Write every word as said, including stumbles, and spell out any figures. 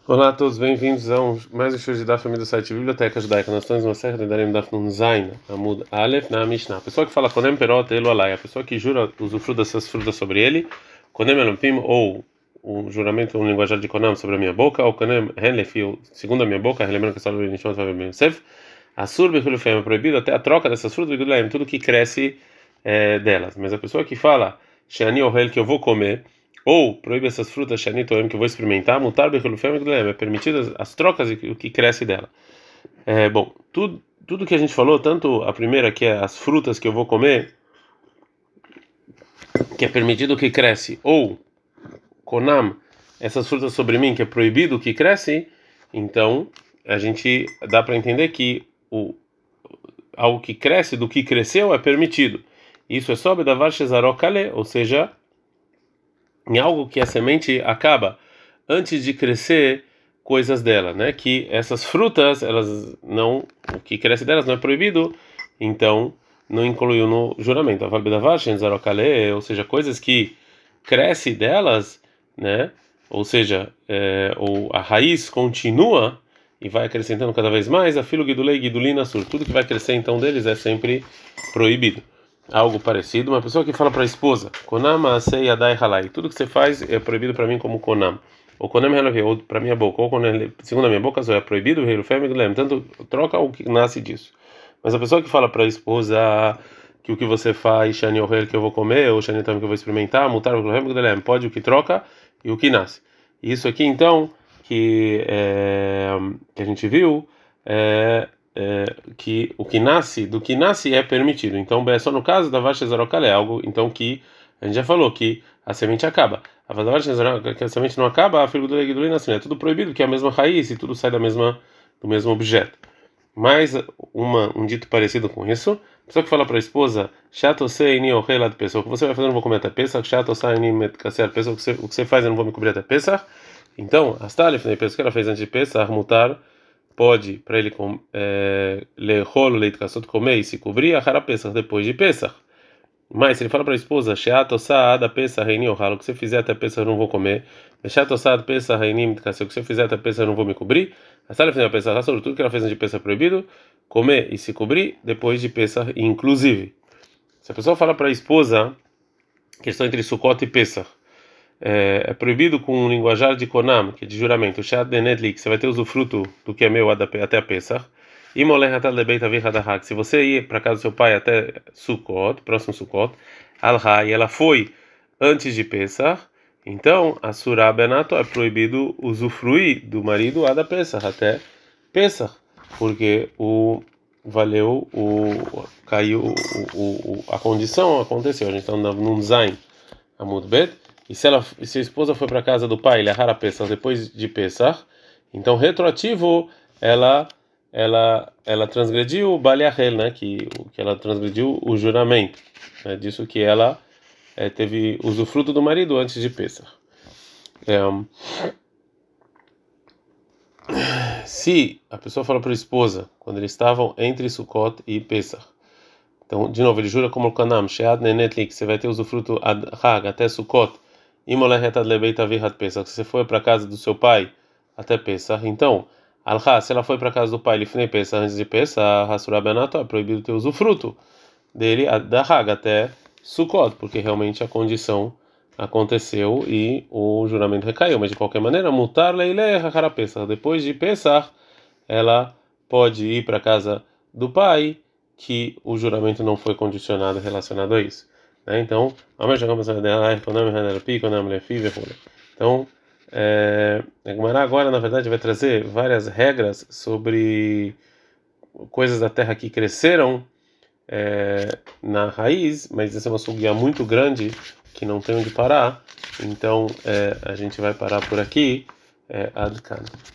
Olá a todos, bem-vindos a um, mais um show de Daf do site Biblioteca Judaica. Nós estamos na Serra de Darem Daf Nun Zain, Amud Aleph, na Mishnah. A pessoa que fala Konem Perot Elo Alai, a pessoa que jura usufruto dessas frutas sobre ele, Konem Elompim, ou um juramento, um linguajar de Konam sobre a minha boca, ou Konem Henlefi, segundo a minha boca, lembrando que a Salve Nishmat vai bem Yosef, Assur Bechulufem é proibido até a troca dessas frutas, tudo que cresce é, delas. Mas a pessoa que fala Sheani Ohel, que eu vou comer, ou proíbe essas frutas Shanitoem que eu vou experimentar, mutar bechelufem é permitidas as trocas e o que cresce dela. É, bom, tudo tudo que a gente falou, tanto a primeira que é as frutas que eu vou comer, que é permitido o que cresce, ou konam, essas frutas sobre mim que é proibido o que cresce, então a gente dá para entender que o algo que cresce do que cresceu é permitido. Isso é sob da varshezarokale, ou seja, em algo que a semente acaba antes de crescer coisas dela, né? Que essas frutas, elas não, o que cresce delas não é proibido, então não incluiu no juramento. A valbedavashen zarokale, ou seja, coisas que cresce delas, né? Ou seja, é, ou a raiz continua e vai acrescentando cada vez mais. A filo gidulei gidulina sur, tudo que vai crescer então deles é sempre proibido. Algo parecido, uma pessoa que fala para a esposa, Konam asei adai halai, tudo que você faz é proibido para mim como Konam. Ou Konam helavi, ou para minha boca, ou segundo a minha boca, é proibido, tanto troca o que nasce disso. Mas a pessoa que fala para a esposa que o que você faz, Shani Ohel, que eu vou comer, ou Shani Tam, que eu vou experimentar, mutar, pode o que troca e o que nasce. E isso aqui, então, que, é, que a gente viu, é. É, que o que nasce do que nasce é permitido. Então, é só no caso da vacha zarocale, é algo então que a gente já falou que a semente acaba. A vacha que a semente não acaba, a filho do leguidulina assim, é tudo proibido, que é a mesma raiz e tudo sai da mesma do mesmo objeto. Mais uma um dito parecido com isso, a pessoa que fala para a esposa, chato sei ni ohela de pessoa, o que você vai fazer eu não vou comer até Pesach, chato sei ni metkaser pessoa, o que você o que você faz eu não vou me cobrir até Pesach. Então, as talif, né, pessoa que ela fez antes de Pesach, mutar pode para ele ler rolo leite caçoto comer e se cobrir a cara Pesach depois de Pesach. Mas se ele fala para a esposa sheato saada Pesach reini ohalo, o que você fizer até Pesach eu não vou comer, sheato saada Pesach reini mitkasse, o que você fizer até Pesach eu não vou me cobrir, a sala final Pesach sobre tudo que ela fez antes de Pesach é proibido comer e se cobrir depois de Pesach, inclusive. Se a pessoa fala para a esposa questão entre Sukkot e Pesach, É, é proibido com um linguajar de Konam, que é de juramento, que você vai ter usufruto do que é meu até a Pesach. Se você ir para casa do seu pai até Sukkot, próximo Sukkot, Al-Ha, e ela foi antes de Pesach, então a Surah Benato é proibido usufruir do marido até Pesach, até Pesach, porque o valeu, o caiu, o, o, a condição aconteceu. A gente está num Zain, Amud Bet. E se, ela, se a esposa foi para a casa do pai, ele arrara Pesach depois de Pesach, então retroativo ela ela ela transgrediu o Baliachel, né, que que ela transgrediu o juramento, né, disso que ela é, teve usufruto do marido antes de Pesach. É, se a pessoa fala para a esposa quando eles estavam entre Sukkot e Pesach, então de novo ele jura como o Kanam, Shead Nenetli, que você vai ter usufruto ad Hag até Sukkot. Se você foi para a casa do seu pai até Pesach, então, Alha, se ela foi para a casa do pai Lifnei Pesach, antes de Pesach, Hasura Benato, é proibido ter usufruto dele da Haga até Sukkot, porque realmente a condição aconteceu e o juramento recaiu. Mas de qualquer maneira, mutar leile hakara Pesach. Depois de Pesach, ela pode ir para a casa do pai, que o juramento não foi condicionado relacionado a isso. Então, então é, a Gemara agora, na verdade, vai trazer várias regras sobre coisas da terra que cresceram é, na raiz, mas essa é uma sugya muito grande que não tem onde parar. Então, é, a gente vai parar por aqui. É, Adkan.